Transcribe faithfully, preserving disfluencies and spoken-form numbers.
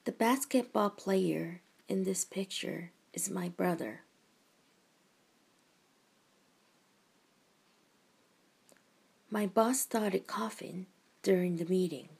The basketball player in this picture is my brother. My boss started coughing during the meeting.